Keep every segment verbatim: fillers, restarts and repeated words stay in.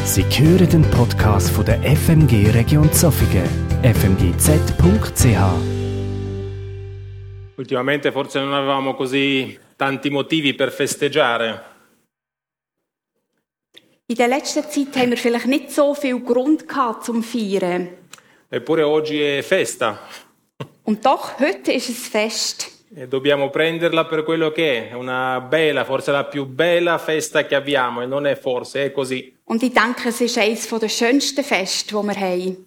Sie hören den Podcast von der F M G Region Zofingen, f m g z punkt c h. Ultimamente forse non avevamo così tanti motivi per festeggiare. In der letzten Zeit haben wir vielleicht nicht so viel Grund gehabt zum Feiern. Eppure oggi è festa. Und doch, heute ist es Fest. E dobbiamo prenderla per quello che è, una bella, forse la più bella festa che abbiamo, e non è forse, è così. Und ich denke, es ist eines der schönsten Feste, die wir haben.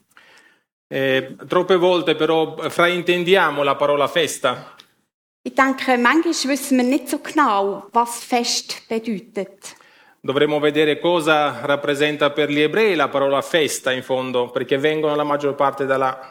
E, troppe volte però fraintendiamo la parola festa. Ich denke, manchmal wissen wir nicht so genau, was Fest bedeutet. Dovremmo vedere cosa rappresenta per gli ebrei la parola festa in fondo, perché vengono la maggior parte da là.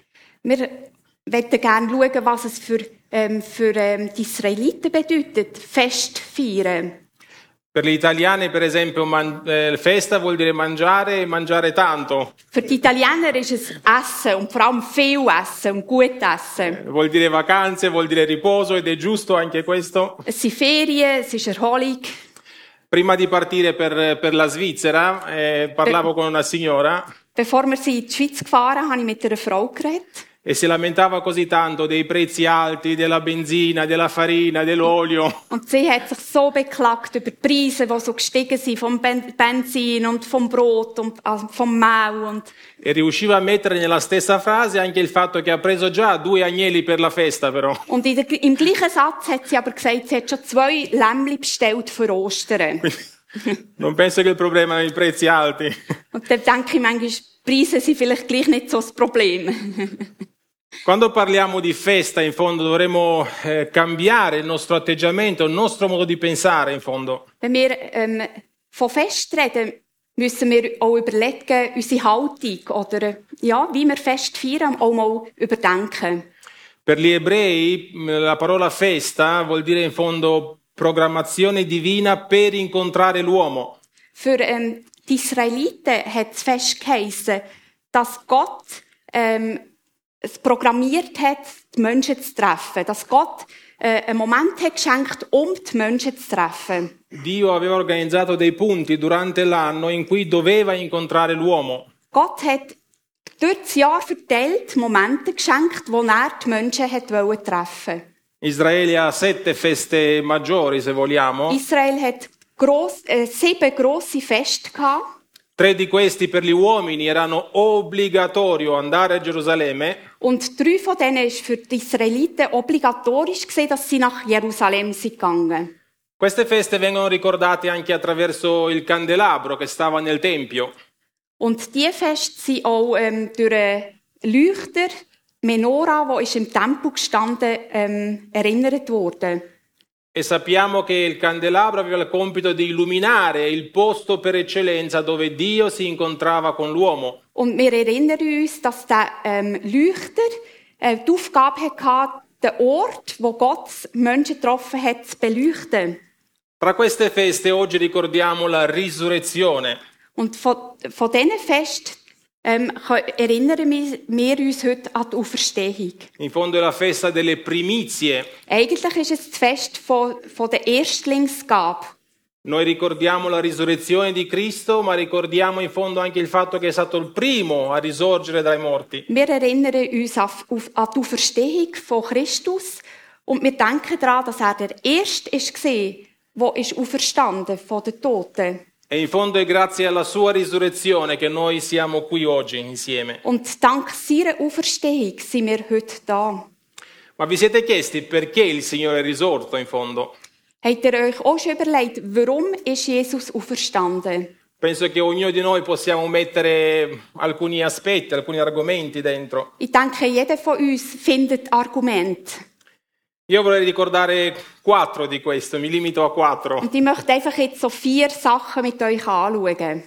Wir möchten gerne schauen, was es für, ähm, für ähm, die Israeliten bedeutet, Fest feiern. Per gli italiani, per esempio, man- eh, festa vuol dire mangiare e mangiare tanto. Für die Italiener ist es Essen und vor allem viel Essen und gut Essen. Vuol dire vacanze, vuol dire riposo, ed è giusto anche questo. Es sind Ferien, es ist Erholung. Prima di partire per, per la Svizzera, eh, parlavo con una signora Bevor wir sie in die Schweiz gefahren, habe ich mit einer Frau geredet. e si lamentava così tanto dei prezzi alti, della benzina, della farina, dell'olio. Und sie hat sich so beklagt über die Preise, die so gestiegen sind, vom Ben- Benzin und vom Brot und also vom Mehl. Und, E riusciva a mettere nella stessa frase anche il fatto che ha preso già due agnelli per la festa, però. und in der, im gleichen Satz hat sie aber gesagt, sie hat schon zwei Lämmli bestellt für Ostern. Non penso che il problema siano i prezzi alti. Und dann denke ich manchmal, die Preise sind vielleicht gleich nicht so das Problem. Quando parliamo di festa, in fondo, dovremmo eh, cambiare il nostro atteggiamento, il nostro modo di pensare, in fondo. Wenn wir ähm, von Fest reden, müssen wir auch überlegen, unsere Haltung oder ja, wie wir Fest feiern, auch mal überdenken. Per gli ebrei la parola festa vuol dire in fondo programmazione divina per incontrare l'uomo. Für ähm, die Israeliten hat es Fest geheissen, dass Gott ähm, es programmiert hat, die Menschen zu treffen. Dass Gott äh, einen Moment hat geschenkt, um die Menschen zu treffen. Dio aveva organizzato dei punti durante l'anno in cui doveva incontrare l'uomo. Gott hat durch das Jahr verteilt Momente geschenkt, wo er die Menschen hat wollen treffen. Israele ha sette feste maggiori, se vogliamo. Israel hat gross, äh, sieben grosse Feste gehabt. Tre di questi per gli uomini erano obbligatorio andare a Gerusalemme. Und drei von denen war für die Israeliten obligatorisch gewesen, dass sie nach Jerusalem sind gegangen. Queste feste vengono ricordate anche attraverso il candelabro che stava nel Tempio. Und diese Feste sind auch ähm, durch einen Leuchter, Menora, wo ist im Tempel gestanden, ähm, erinnert worden. E sappiamo che il candelabro aveva il compito di illuminare il posto per eccellenza dove Dio si incontrava con l'uomo. Und wir erinnern uns, dass der ähm, Leuchter äh, die Aufgabe hatte, den Ort, wo Gott Menschen getroffen hat, zu beleuchten. Tra queste feste oggi ricordiamo la risurrezione. Und von, von diesen Festen ähm, erinnern wir, wir uns heute an die Auferstehung. In fondo è la festa delle primizie. Eigentlich ist es das Fest von, von der Erstlingsgabe. Noi ricordiamo la risurrezione di Cristo, ma ricordiamo in fondo anche il fatto che è stato il primo a risorgere dai morti. Wir erinnern uns an, auf, an die Auferstehung von Christus und wir denken daran, dass er der Erste war, der ist auferstanden von den Toten. E in fondo è grazie alla sua risurrezione che noi siamo qui oggi insieme. Und dank seiner Auferstehung sind wir heute da. Ma vi siete chiesti perché il Signore è risorto in fondo? Habt ihr euch auch schon überlegt, warum ist Jesus auferstanden? Penso che ognuno di noi possiamo mettere alcuni aspetti, alcuni argomenti dentro. Ich denke, jeder von uns findet Argumente. Io vorrei ricordare quattro di questo, mi limito a quattro. Und ich möchte einfach jetzt so vier Sachen mit euch anschauen.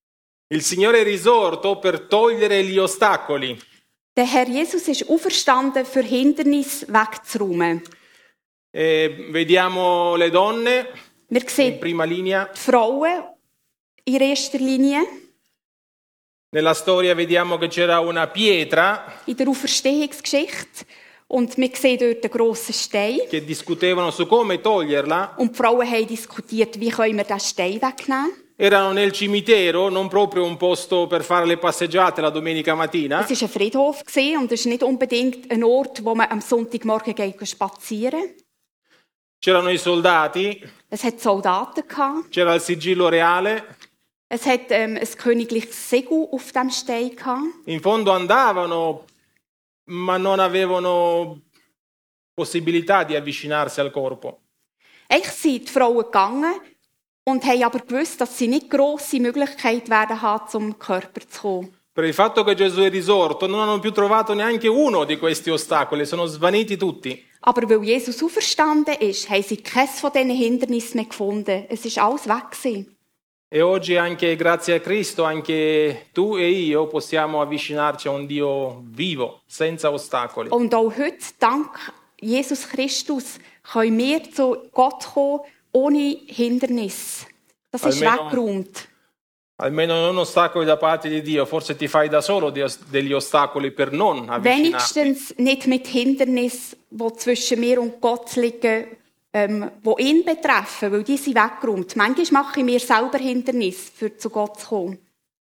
Il Signore è risorto per togliere gli ostacoli. Der Herr Jesus ist auferstanden, für Hindernisse wegzuräumen. E vediamo le donne Wir in sehen prima linea. die Frauen in erster Linie. Nella storia vediamo che c'era una pietra In der Auferstehungsgeschichte. Und wir sehen dort einen grossen Stein. che discutevano su come toglierla. Und die Frauen haben diskutiert, wie können wir diesen Stein wegnehmen. erano nel cimitero, non proprio un posto per fare le passeggiate la domenica mattina. Es war ein Friedhof und es ist nicht unbedingt ein Ort, wo man am Sonntagmorgen geht spazieren. C'erano i soldati, Es hat Soldaten gehabt. c'era il sigillo reale. Es hat ähm, ein königliches Segel auf dem Stein gehabt. In fondo andavano, ma non avevano possibilità di avvicinarsi al corpo. Eigentlich sind die Frauen gegangen und haben aber gewusst, dass sie nicht grosse Möglichkeit werden haben, zum Körper zu kommen. Per il fatto che Gesù è risorto, non hanno più trovato neanche uno di questi ostacoli, sono svaniti tutti. Aber weil Jesus auferstanden ist, haben sie keines von diesen Hindernissen mehr gefunden. Es ist alles weg gewesen. E oggi anche grazie a Cristo, anche tu e io possiamo avvicinarci a un Dio vivo, senza ostacoli. Und auch heute, dank Jesus Christus, können wir zu Gott kommen, ohne Hindernis. Das ist Almeno- weggeräumt. Almeno non ostacoli da parte di Dio, forse ti fai da solo di- degli ostacoli per non avvicinarti. Wenigstens nicht mit Hindernissen, die zwischen mir und Gott liegen, ähm, die ihn betreffen, weil die sind weggeräumt. Manchmal mache ich mir selber Hindernisse, für zu Gott zu kommen.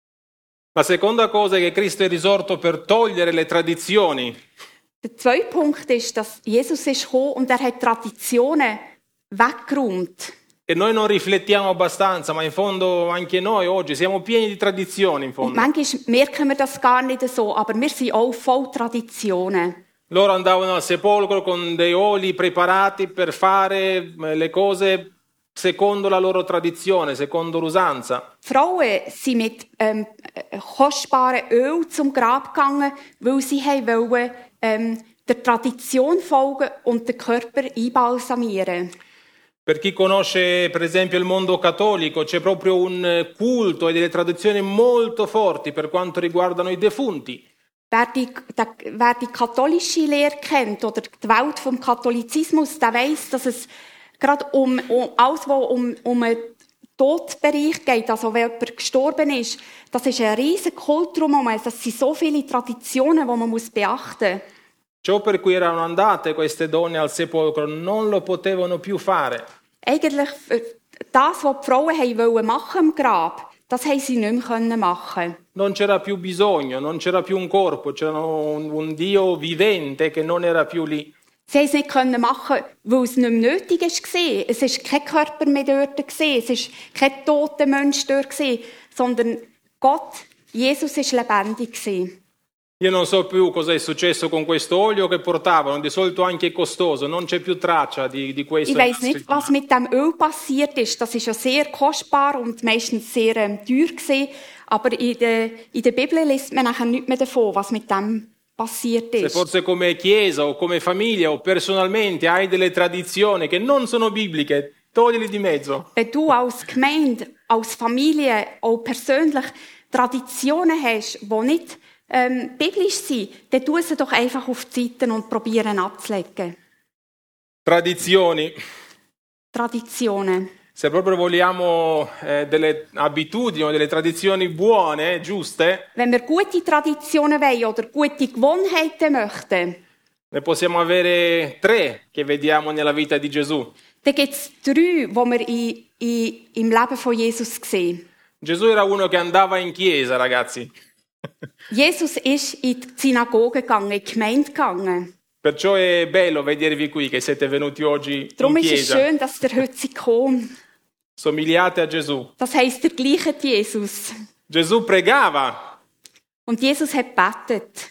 La seconda cosa è che Cristo è risorto per togliere le tradizioni. Der zweite Punkt ist, dass Jesus ist gekommen und er hat Traditionen weggeräumt. E noi non riflettiamo abbastanza, ma in fondo anche noi oggi siamo pieni di tradizioni in Und fondo. manchmal merken wir das gar nicht so, aber wir sind auch voll Traditionen. Loro andavano al sepolcro con dei oli preparati per fare eh, le cose secondo la loro tradizione, secondo l'usanza. Die Frauen sind mit ähm, äh, kostbaren Öl zum Grab gegangen, weil sie haben wollen, ähm, der Tradition folgen und den Körper einbalsamieren. Per chi conosce per esempio il mondo cattolico c'è proprio un eh, culto e delle tradizioni molto forti per quanto riguardano i defunti. Wer die, der, wer die katholische Lehre kennt oder die Welt vom Katholizismus, der weiss, dass es gerade um, um alles, was um, um einen Todbereich geht, also wenn jemand gestorben ist, das ist ein riesiger Kult drumherum. Das sind so viele Traditionen, die man muss beachten muss. Ciò per cui erano andate queste donne al sepolcro non lo potevano più fare. Eigentlich äh, das, was die Frauen haben wollen machen im Grab, das haben sie nicht mehr können machen. Non c'era più bisogno, non c'era più un corpo, c'era un, un Dio vivente che non era più lì. Sie haben es nicht können machen, weil es nicht mehr nötig war. Es war kein Körper mehr dort, es war kein toter Mensch dort, sondern Gott, Jesus, war lebendig. Io non so più cosa è successo con questo olio che portavano, di solito anche costoso, non c'è più traccia di, di questo. Ich weiss nicht, was mit dem Öl passiert ist. Das ist ja sehr kostbar und meistens sehr ähm, teuer gewesen. Aber in der, in der Bibel liest man nachher nichts mehr davon, was mit dem passiert Se ist. forse come chiesa o come famiglia o personalmente hai delle tradizioni che non sono bibliche, toglili di mezzo. Wenn du als Gemeinde, als Familie, auch persönlich Traditionen hast, die nicht ähm, biblisch sind, dann tu sie doch einfach auf die Seite und probieren abzulegen. Tradizioni. Traditionen. Se proprio vogliamo eh, delle abitudini o delle tradizioni buone, giuste, Wenn wir gute Traditionen wollen oder gute Gewohnheiten möchten, ne possiamo avere tre che vediamo nella vita di Gesù. dann gibt es drei, die wir in, in, im Leben von Jesus sehen. Gesù era uno che andava in chiesa, ragazzi. Jesus ist in die Synagoge gegangen, in die Gemeinde gegangen. Perciò è bello vedervi qui che siete venuti oggi Darum in ist es chiesa. schön, dass ihr heute kommt. Somigliate a Gesù. Das heisst, der gleiche Jesus. Gesù pregava. Und Jesus hat gebetet.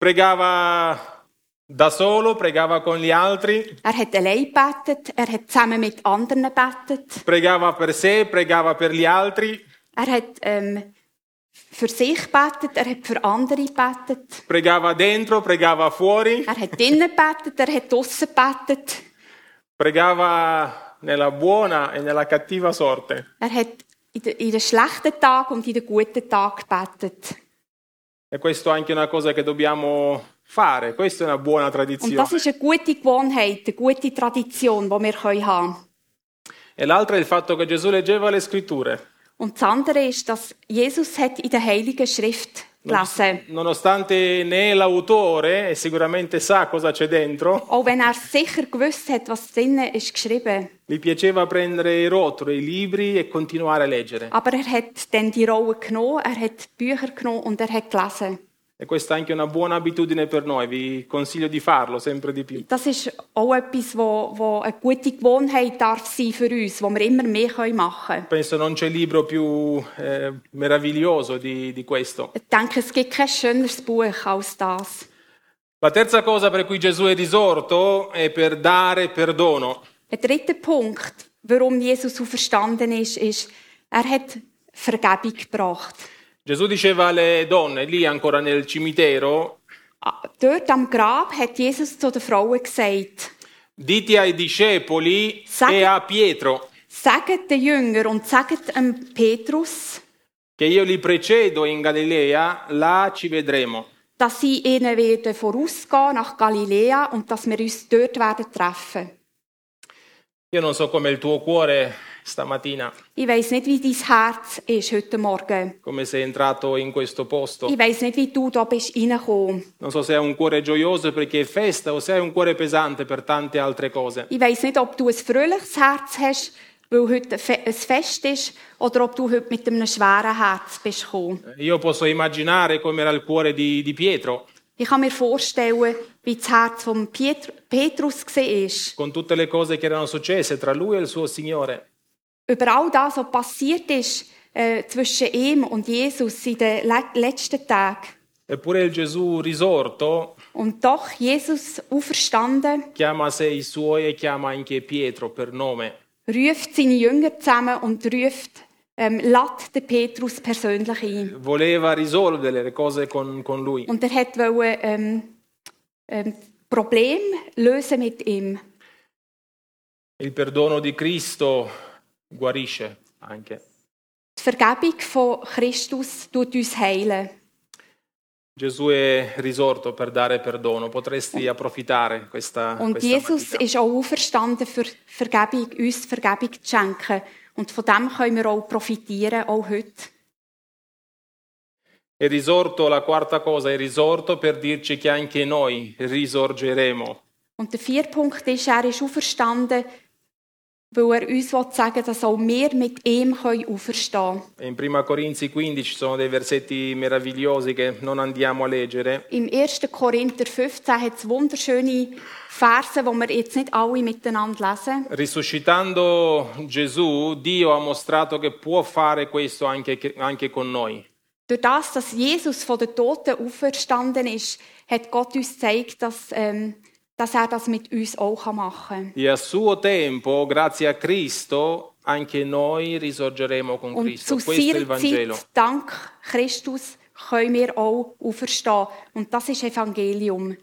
Pregava da solo, pregava con gli altri, Er hat allein gebetet, er hat zusammen mit anderen gebetet. pregava per sé, pregava per gli altri, Er hat ähm, für sich gebetet, er hat für andere gebetet. pregava dentro, pregava fuori, Er hat drinnen gebetet, er hat draussen gebetet. pregava nella buona e nella cattiva sorte. Er hat in den, in den schlechten Tagen und in den guten Tagen gebetet. E questo è anche una cosa che dobbiamo fare, questa è una buona Und tradizione. das ist eine gute Gewohnheit, eine gute Tradition, die wir haben können. E l'altra è il fatto che Gesù leggeva le scritture. Und das andere ist, dass Jesus hat in der Heiligen Schrift gelesen. Nonostante ne è l'autore e sicuramente sa cosa c'è dentro, Auch wenn er sicher gewusst hat, was drinnen ist geschrieben. gli piaceva prendere i rotoli, i libri e continuare a leggere. Aber er hat dann die Rolle genommen, er hat Bücher genommen und er hat gelesen. E questa è anche una buona abitudine per noi, vi consiglio di farlo sempre di più. Das ist auch etwas, wo, wo eine gute Gewohnheit darf sein für uns, wo wir immer mehr machen können. Penso non c'è libro più eh, meraviglioso di, di questo. Ich denke, es gibt kein schöneres Buch als das. La terza cosa per cui Gesù è risorto è per dare perdono. Der dritte Punkt, warum Jesus auferstanden ist, ist, er hat Vergebung gebracht. Gesù diceva alle donne, lì ancora nel cimitero, Dort am Grab hat Jesus zu den Frauen gesagt, dite ai discepoli Sag- e a Pietro sagt den Jüngern und sagt dem Petrus, che io li precedo in Galilea, là ci vedremo. dass sie ihnen werden vorausgehen nach Galiläa und dass wir uns dort werden treffen. Io non so come il tuo cuore stamattina, Ich weiss nicht, wie dein Herz ist heute Morgen. come sei entrato in questo posto. Ich weiss nicht, wie du da bist reingekommen. Non so se hai un cuore gioioso perché è festa o se hai un cuore pesante per tante altre cose. Ich weiss nicht, ob du ein fröhliches Herz hast, weil heute ein Fe- ein Fest ist, oder ob du heute mit einem schweren Herz bist gekommen. Io posso immaginare come era il cuore di, di Pietro, Ich kann mir vorstellen, wie das Herz von Pietr- Petrus war. con tutte le cose che erano successe tra lui e il suo Signore. Über all das, was passiert ist äh, zwischen ihm und Jesus in den le- letzten Tagen. Eppure il Gesù risorto Und doch, Jesus auferstanden, chiama a sé i suoi e chiama anche Pietro per nome. ruft seine Jünger zusammen und ruft, ähm, lädt den Petrus persönlich ein. Voleva risolvere le cose con, con lui. Und er hat wollte, ähm, ähm, Problem lösen mit ihm. Il perdono di Cristo guarisce anche. Die Vergebung von Christus tut uns heilen. Gesù è risorto per dare perdono. Potresti approfittare questa, Und questa Jesus mattina. ist auch auferstanden, für Vergebung, uns Vergebung zu schenken. Und von dem können wir auch profitieren, auch heute. È risorto, la quarta cosa, è risorto per dirci che anche noi risorgeremo. Und der vierte Punkt ist, er ist auferstanden, weil er uns sagen will, dass auch wir mit ihm auferstehen können. In Prima Corinzi quindici ci sono dei versetti meravigliosi che non andiamo a leggere. Im ersten Korinther fünfzehn hat es wunderschöne Verse, die wir jetzt nicht alle miteinander lesen. Risuscitando Gesù, Dio ha mostrato che può fare questo anche, anche con noi. Durch das, dass Jesus von den Toten auferstanden ist, hat Gott uns gezeigt, dass, ähm, dass er das mit uns auch machen kann. E a suo tempo, grazie a Cristo, anche noi risorgeremo con Und Cristo. zu Questo è il seiner Vangelo. Zeit, dank Christus, können wir auch auferstehen. Und das ist Evangelium.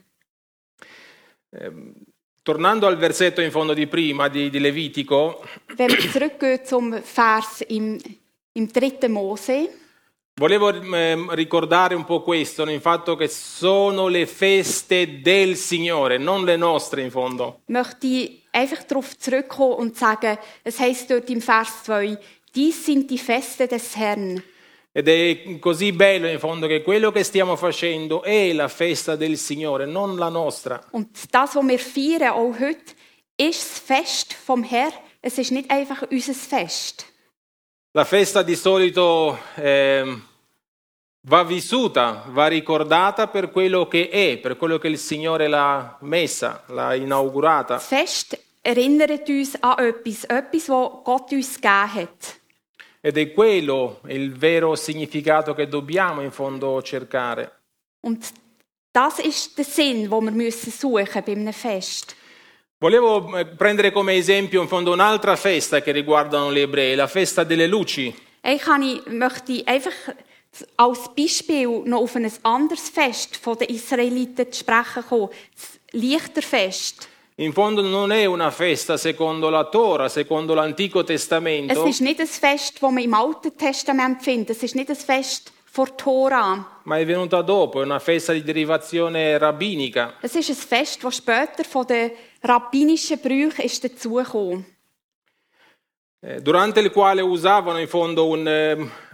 Tornando al versetto in fondo di prima, di, di Levitico, Wenn wir zurückgehen zum Vers im, im dritten Mose, volevo eh, ricordare un po' questo, il fatto che sono le feste del Signore, non le nostre in fondo. möchte ich einfach darauf zurückkommen und sagen, es heisst dort im Vers zwei, dies sind die Feste des Herrn. Ed è così bello in fondo che quello che stiamo facendo è la festa del Signore, non la nostra. Und das, was wir feiern, auch heute, ist das Fest vom Herrn. Es ist nicht einfach unser Fest. La festa di solito eh, va vissuta, va ricordata per quello che è, per quello che il Signore l'ha messa, l'ha inaugurata. Das Fest erinnert uns an etwas, etwas, was Gott uns gegeben hat. Ed è quello il vero significato che dobbiamo in fondo cercare. Und das ist der Sinn, den wir müssen suchen bei einem Fest. Volevo eh, prendere come esempio in fondo un'altra festa che riguardano gli ebrei, la festa delle luci. Ich, kann ich möchte einfach als Beispiel noch auf ein anderes Fest von den Israeliten zu sprechen kommen. Das Lichterfest. In fondo non è una festa secondo la Tora, secondo l'Antico Es Testamento, ist nicht ein Fest, das man im Alten Testament findet. Es ist nicht ein Fest vor Tora. ma è venuta dopo, è una festa di derivazione rabbinica. Es ist ein Fest, das später von den rabbinischen Brüchen ist dazugekommen. Eh, durante il quale usavano in fondo un, eh,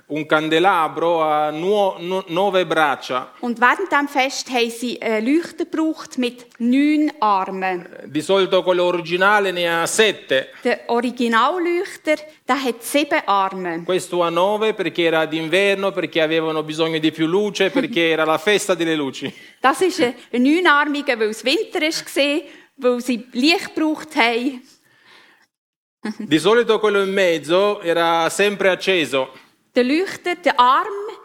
un candelabro ha nuo, no, nove braccia. Und während diesem Fest haben sie einen Leuchter gebraucht mit neun Armen. Di solito quello originale ne ha sette. Der Originalleuchter, der hat sieben Arme. Questo ha nove perché era d'inverno, perché avevano bisogno di più luce, perché era la festa delle luci. Das ist ein neunarmiger, weil es Winter war, weil sie Licht gebraucht haben. Di solito quello in mezzo era sempre acceso. Der Leuchter, der Arm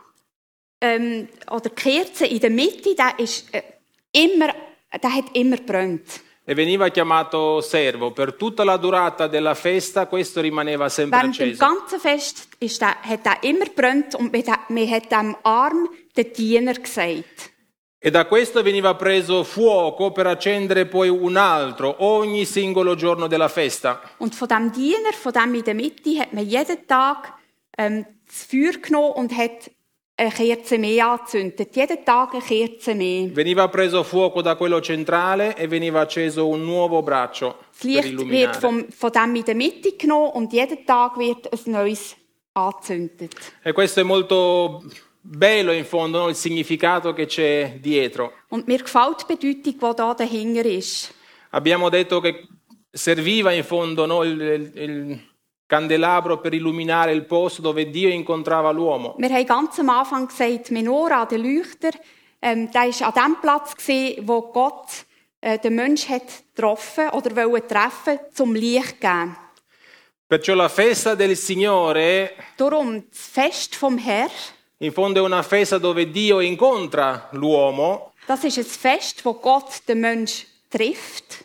ähm, oder die Kerze in der Mitte, der, ist, äh, immer, der hat immer gebrannt. E veniva chiamato servo. Per tutta la durata della festa questo rimaneva sempre Während dem acceso. ganzen Fest ist der, hat er immer gebrannt und man hat, man hat dem Arm den Diener gesagt. E da questo veniva preso fuoco per accendere poi un altro ogni singolo giorno della festa. Und von dem Diener, von dem in der Mitte, hat man jeden Tag ähm, das Feuer genommen und hat eine Kerze mehr angezündet. Jeden Tag eine Kerze mehr. Veniva preso fuoco da quello centrale e veniva acceso un nuovo braccio Das per Licht wird illuminare. vom, von dem in der Mitte genommen und jeden Tag wird ein neues angezündet. E questo è molto bello in fondo, no? Il significato che c'è dietro. Und mir gefällt die Bedeutung, die da dahinter ist. Abbiamo detto che serviva in fondo, no? il, il, il candelabro per illuminare il posto dove Dio incontrava l'uomo. Wir haben ganz am Anfang gesagt, Menorah, der Leuchter, ähm, der war an dem Platz, gewesen, wo Gott äh, den Menschen hat getroffen oder wollte treffen, zum Licht geben. Perciò la festa del Signore Darum, das Fest vom Herrn, in fondo è una festa dove Dio incontra l'uomo. das ist ein Fest, wo Gott den Menschen trifft.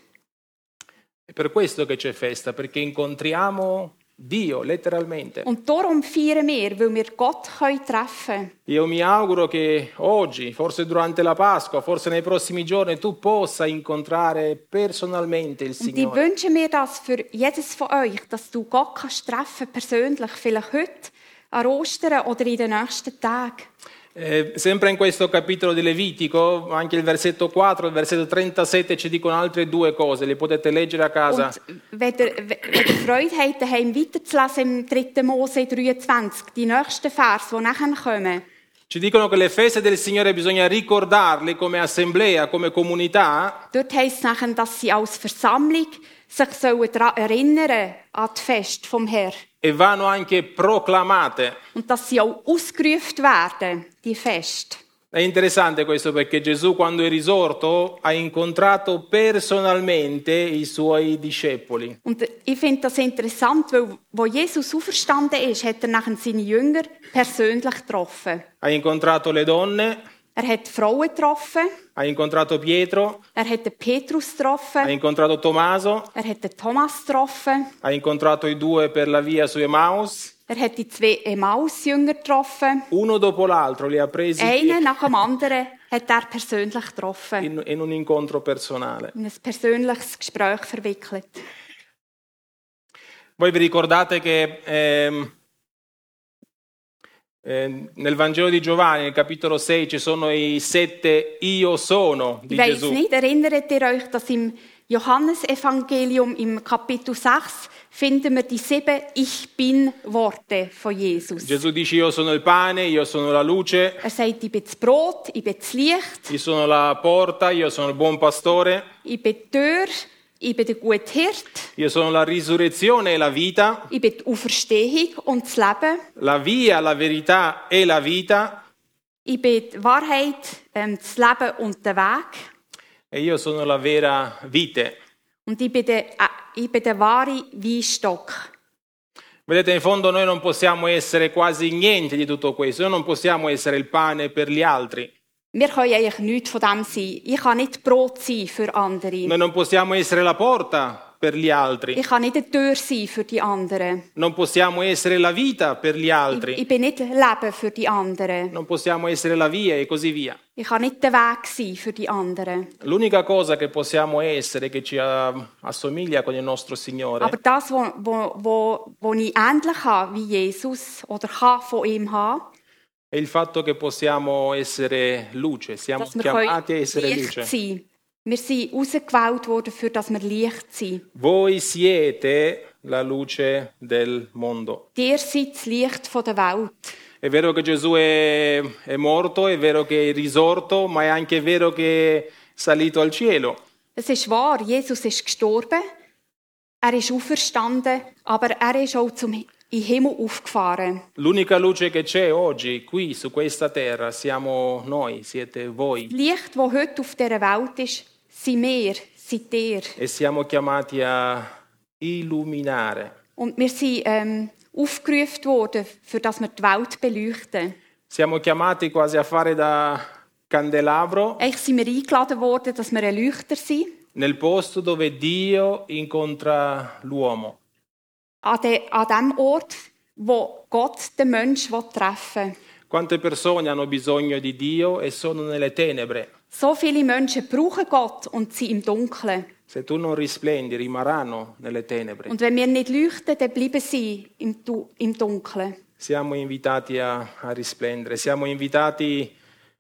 È per questo che c'è festa, perché incontriamo Dio, letteralmente. Und darum feiern wir, weil wir Gott können treffen können. Io mi auguro che oggi, forse durante la Pasqua, forse nei prossimi giorni, tu possa incontrare personalmente il Und ich Signore. wünsche mir das für jedes von euch, dass du Gott kannst treffen, persönlich, vielleicht heute, an Ostern oder in den nächsten Tagen. Eh, sempre in questo capitolo di Levitico, anche il versetto quattro e il versetto trentasette ci dicono altre due cose, le potete leggere a casa. Und wenn ihr, wenn ihr Freude habt, daheim weiterzulesen im dritten Mose dreiundzwanzig, die nächsten Vers, die nachher kommen, Ci dicono che le feste del Signore bisogna ricordarle come assemblea, come comunità, dort heisst es nachher, dass sie als Versammlung sich sollen daran erinnern an die Fest vom Herrn. e vanno anche proclamate. Und dass sie auch ausgerufen werden, die Fest. È interessante questo perché Gesù quando è risorto ha incontrato personalmente i suoi discepoli. Und ich finde das interessant, weil wo Jesus auferstanden ist, hat er nachher seine Jünger persönlich getroffen. Ha incontrato le donne, Er hat Frauen getroffen, ha incontrato Pietro, er hat den Petrus ha getroffen, incontrato Tommaso, er hat den Thomas getroffen, ha incontrato i due per la via su Emmaus. er hat die zwei Emmaus-Jünger getroffen. Uno dopo l'altro li ha presi Einen nach dem anderen hat er persönlich getroffen, in, in un incontro personale. in ein persönliches Gespräch verwickelt. Voi vi ricordate che ehm, eh, nel Vangelo di Giovanni, nel capitolo sei, ci sono i sette Io sono di Ich weiss Gesù. nicht, erinnert ihr euch, dass im Johannesevangelium im Kapitel sechs finden wir die sieben Ich Bin-Worte von Jesus. Gesù dice io sono il pane, io sono la luce, Er sagt, ich bin das Brot, ich bin das Licht, io sono la porta, io sono il buon pastore, ich bin die Tür, ich bin der gute Hirt, io sono la risurrezione e la vita, ich bin die Auferstehung und das Leben, la via, la verità e la vita, ich bin die Wahrheit, ähm, das Leben und der Weg. e io sono la vera vite. Und ich bin der, äh, ich bin der wahre Weinstock. Vedete, in fondo noi non possiamo essere quasi niente di tutto questo, noi non possiamo essere il pane per gli altri, Wir können eigentlich nichts von dem sein. Ich kann nicht Brot sein für andere. noi non possiamo essere la porta per gli altri, Ich kann nicht eine Tür sein für die anderen. non possiamo essere la vita per gli Ich, altri, ich bin nicht Leben für die anderen. non possiamo essere la via e così via. Ich kann nicht der Weg sein für die anderen. L'unica cosa che possiamo essere, che ci ah, assomiglia con il nostro Signore, Aber das, wo, wo, wo, wo ich ähnlich habe wie Jesus oder kann von ihm haben, è il fatto che possiamo essere luce, siamo dass wir chiamati a können essere Licht luce. sein. Wir sind ausgewählt worden, für dass wir Licht sind. Voi siete la luce del mondo. Ihr seid das Licht der Welt. È vero che Gesù è, è morto, è vero che è risorto, ma è anche vero che è salito al cielo. Es ist wahr, Jesus ist gestorben, er ist auferstanden, aber er ist auch zum in den Himmel aufgefahren. L'unica luce che c'è oggi, qui, su questa terra, siamo noi, siete voi. Das Licht, das heute auf dieser Welt ist, sind wir, seid ihr. E siamo chiamati a illuminare. Und wir sind ähm, aufgerufen worden, für dass wir die Welt beleuchten. Siamo chiamati quasi a fare da candelabro Eigentlich sind wir eingeladen worden, dass wir ein Leuchter sind. nel posto dove Dio incontra l'uomo. An, de, an dem Ort, wo Gott den Menschen treffen will. Quante persone hanno bisogno di Dio e sono nelle tenebre. So viele Menschen brauchen Gott und sind im Dunkeln. Se tu non risplendi, rimarranno nelle tenebre. Und wenn wir nicht leuchten, dann bleiben sie im, Du- im Dunkeln. Siamo invitati a, a risplendere, siamo invitati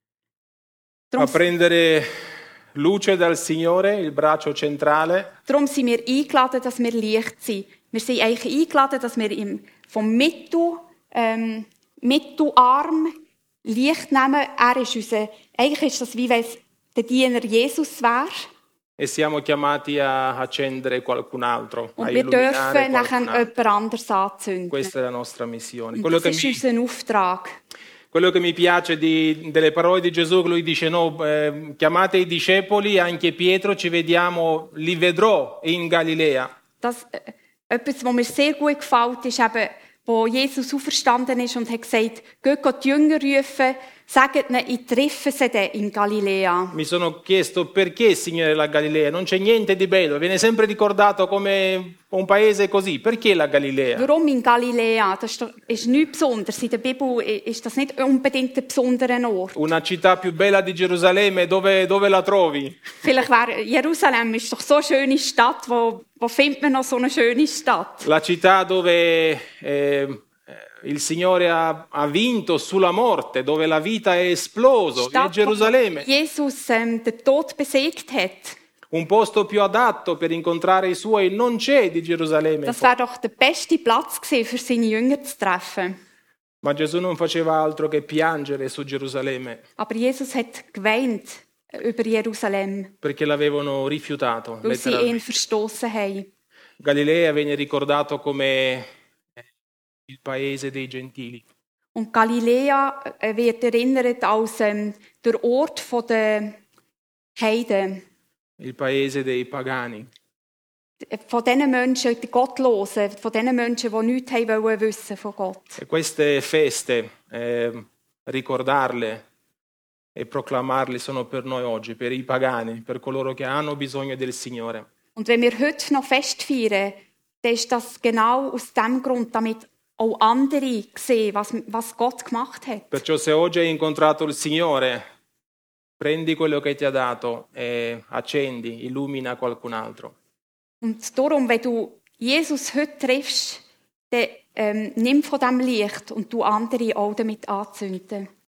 a Darum, prendere luce dal Signore, il braccio centrale, darum sind wir eingeladen, dass wir Licht sind. Wir sind eigentlich eingeladen, dass wir im, vom Mittel, ähm, Mittelarm Licht nehmen. Er ist unser, eigentlich ist das wie wenn es der Diener Jesus wäre. e siamo chiamati a accendere qualcun altro, a Und wir illuminare dürfen nachher qualcun altro. jemand anderes anzünden. Questa è la nostra missione. Und Quello das che, ist mi, unser Auftrag. quello che mi piace di- delle parole di Gesù, che lui dice no, eh, chiamate i discepoli, anche Pietro, ci vediamo, li vedrò in Galilea. Das, äh, etwas, was mir sehr gut gefällt, ist eben, wo Jesus auferstanden ist und hat gesagt, geht Gott die Jünger rufen, sagt ihnen, ich treffe sie dann in Galiläa. Mi sono chiesto perché, Signore, la Galilea? Non c'è niente di bello, viene sempre ricordato come un paese così. Perché la Galilea? Warum in Galiläa? Das ist, doch, ist nichts Besonderes. In der Bibel ist das nicht unbedingt ein besonderer Ort. Una città più bella di Gerusalemme, dove, dove la trovi? Vielleicht wäre Jerusalem ist doch so eine schöne Stadt. Wo, wo findet man noch so eine schöne Stadt? La città dove eh, il Signore ha, ha vinto sulla morte, dove la vita è esploso, è Stadt, wo Gerusalemme. Jesus ähm, den Tod besiegt hat. Un posto più adatto per incontrare i suoi non c'è di Gerusalemme. Das wäre doch der beste Platz gewesen, für seine Jünger zu treffen. Ma Gesù non faceva altro che piangere su Gerusalemme, Aber Jesus hat geweint über Jerusalem, perché l'avevano rifiutato. weil sie letteralmente. ihn verstoßen haben. Galilea viene ricordato come il paese dei gentili. Und Galiläa äh, wird erinnert als ähm, der Ort der Heiden, Il paese dei pagani. von diesen Menschen, die Gottlosen, von diesen Menschen, die nichts haben wollen wissen von Gott. E queste feste, eh, ricordarle e proclamarle sono per noi oggi, per i pagani, per coloro che hanno bisogno del Signore. Und wenn wir heute noch Fest feiern, dann ist das genau aus dem Grund, damit auch andere sehen, was, was Gott gemacht hat. Perciò se oggi hai incontrato il Signore, prendi quello che ti ha dato e accendi, illumina qualcun altro. Und darum, wenn du Jesus heute triffst, dann ähm, nimm von diesem Licht und du andere auch damit anzünden.